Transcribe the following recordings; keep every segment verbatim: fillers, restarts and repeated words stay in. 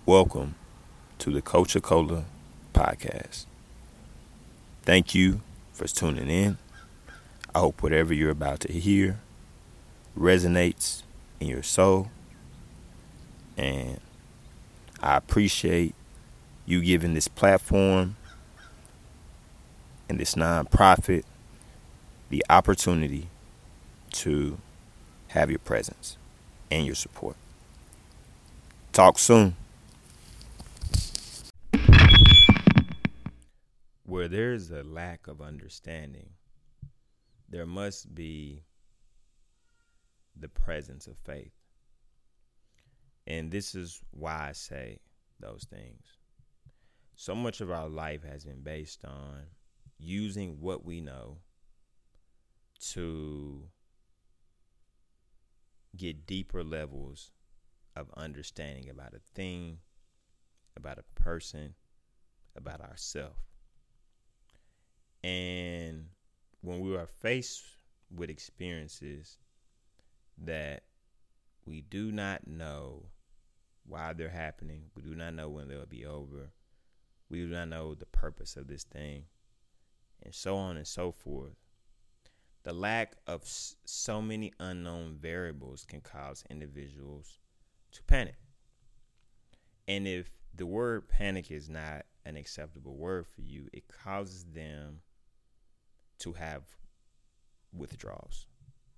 Welcome to the Coca-Cola podcast. Thank you for tuning in. I hope whatever you're about to hear resonates in your soul, and I appreciate you giving this platform and this nonprofit the opportunity to have your presence and your support. Talk soon. Where there's a lack of understanding, there must be the presence of faith. And this is why I say those things. So much of our life has been based on using what we know to get deeper levels of understanding about a thing, about a person, about ourselves. And when we are faced with experiences that we do not know why they're happening, we do not know when they'll be over, we do not know the purpose of this thing, and so on and so forth, the lack of so many unknown variables can cause individuals to panic. And if the word panic is not an acceptable word for you, it causes them to have withdrawals.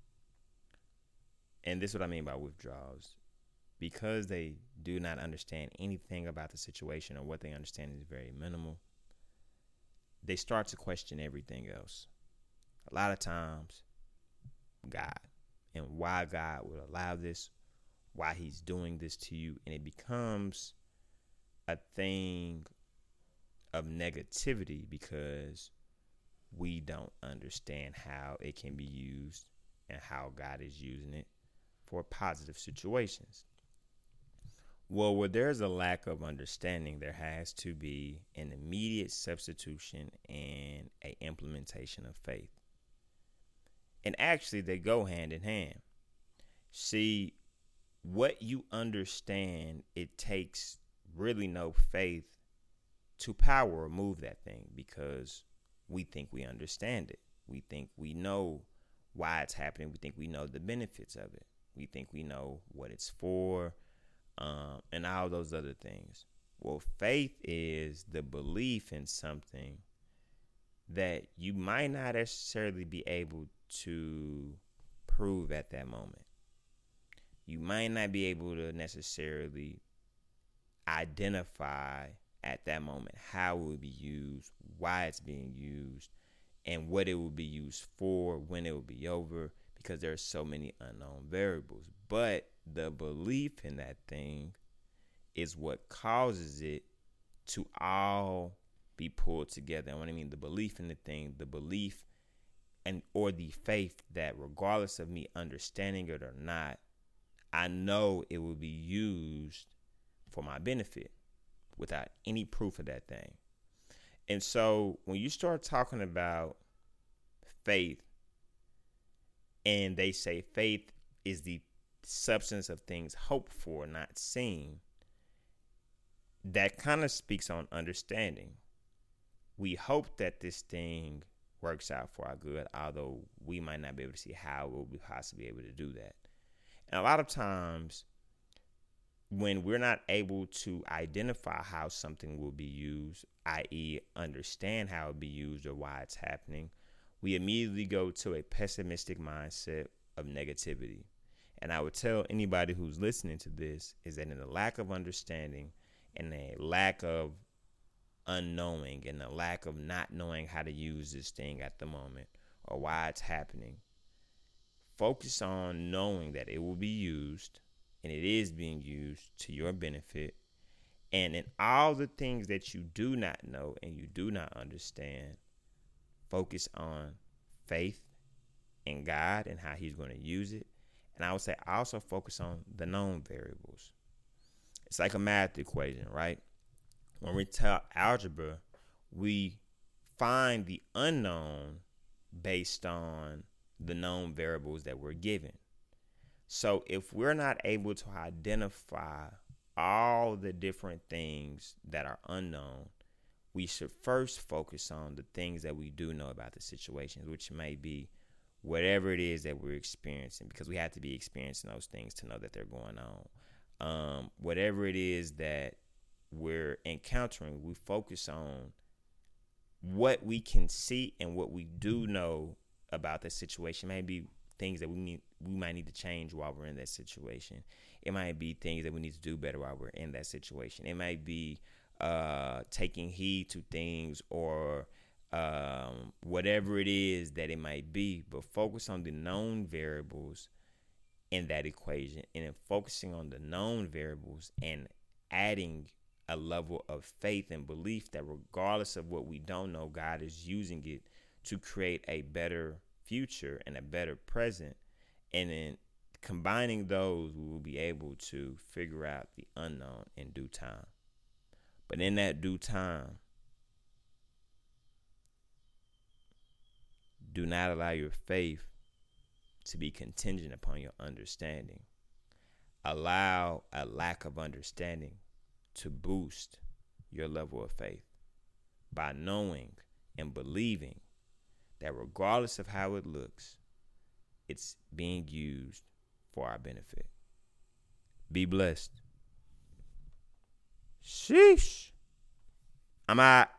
And this is what I mean by withdrawals. Because they do not understand anything about the situation, or what they understand is very minimal, they start to question everything else. A lot of times, God, and why God would allow this, why he's doing this to you. And it becomes a thing of negativity because we don't understand how it can be used and how God is using it for positive situations. Well, where there's a lack of understanding, there has to be an immediate substitution and an implementation of faith. And actually, they go hand in hand. See, what you understand, it takes really no faith to power or move that thing, because we think we understand it. We think we know why it's happening. We think we know the benefits of it. We think we know what it's for, um, and all those other things. Well, faith is the belief in something that you might not necessarily be able to prove at that moment. You might not be able to necessarily identify at that moment how it will be used, why it's being used, and what it will be used for, when it will be over, because there are so many unknown variables. But the belief in that thing is what causes it to all be pulled together. And what I mean, the belief in the thing, the belief and or the faith that regardless of me understanding it or not, I know it will be used for my benefit without any proof of that thing. And so when you start talking about faith, and they say faith is the substance of things hoped for, not seen, that kind of speaks on understanding. We hope that this thing works out for our good, although we might not be able to see how we'll be possibly able to do that. And a lot of times, when we're not able to identify how something will be used, that is understand how it will be used or why it's happening, we immediately go to a pessimistic mindset of negativity. And I would tell anybody who's listening to this is that in the lack of understanding and a lack of unknowing and a lack of not knowing how to use this thing at the moment or why it's happening, focus on knowing that it will be used, and it is being used to your benefit. And in all the things that you do not know and you do not understand, focus on faith in God and how he's going to use it. And I would say also focus on the known variables. It's like a math equation, right? When we tell algebra, we find the unknown based on the known variables that we're given. So if we're not able to identify all the different things that are unknown, we should first focus on the things that we do know about the situations, which may be whatever it is that we're experiencing, because we have to be experiencing those things to know that they're going on. Um, whatever it is that we're encountering, we focus on what we can see and what we do know about the situation. Maybe things that we need, we might need to change while we're in that situation. It might be things that we need to do better while we're in that situation. It might be uh, taking heed to things, or um, whatever it is that it might be. But focus on the known variables in that equation, and then focusing on the known variables and adding a level of faith and belief that regardless of what we don't know, God is using it to create a better future and a better present. And then combining those, we will be able to figure out the unknown in due time. But in that due time, do not allow your faith to be contingent upon your understanding. Allow a lack of understanding to boost your level of faith by knowing and believing that regardless of how it looks, it's being used for our benefit. Be blessed. Sheesh. I'm out.